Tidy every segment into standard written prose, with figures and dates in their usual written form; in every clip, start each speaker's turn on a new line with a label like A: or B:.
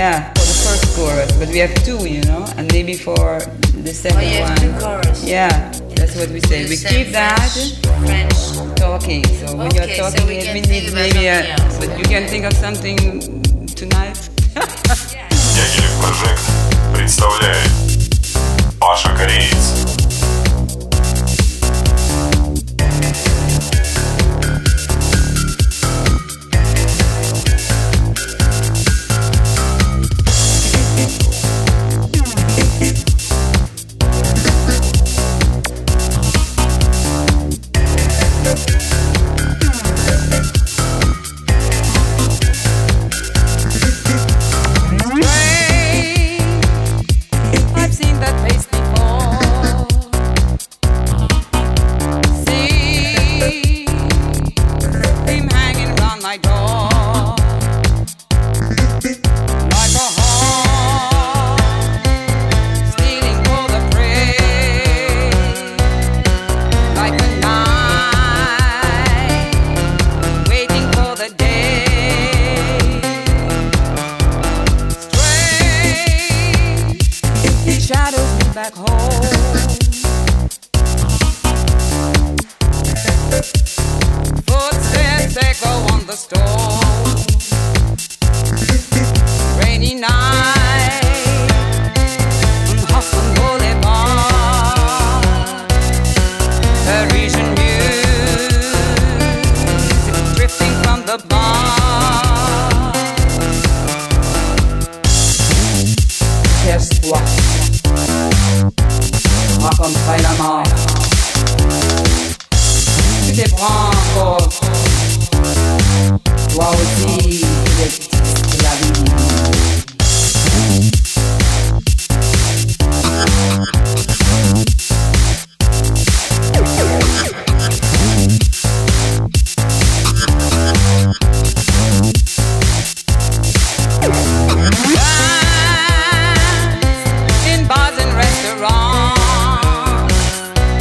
A: Yeah, for the first chorus, but we have two, and maybe for the second one.
B: Oh, you have two choruses.
A: Yeah, that's what we say. We keep that
B: French
A: talking. So when you're talking,
B: so we
A: we
B: can
A: need
B: think about
A: maybe
B: something else.
A: but you can think of something tonight.
C: Дягилев Project представляет Паша Кореец.
A: I've seen that face before. See him hanging around my door like a hawk stealing for the prey, like a night waiting for the day. Strange shadows me back home. Footsteps echo on the stone. Rainy night on Hudson Boulevard. Parisian music drifting from the bar. Casse-toi, raconte-moi la mort. Tu te prends en compte, toi aussi tu détestes la vie. Dance in bars and restaurants,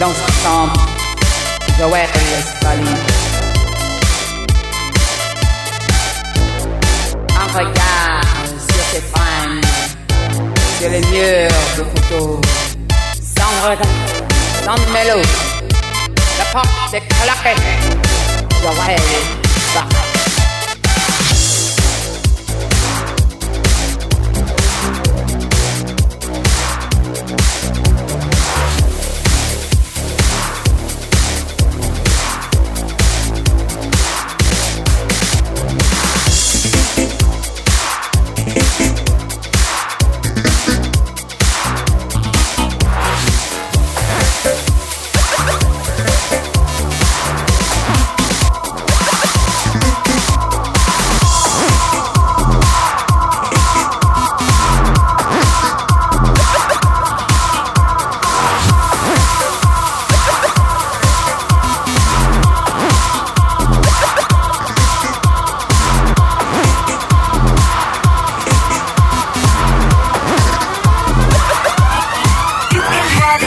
A: dans sa chambre, Joël Westphalie. Un regard sur ses fringues, sur les murs de photos, sans regret, sans mélo. La porte est claquée, Joël Westphalie.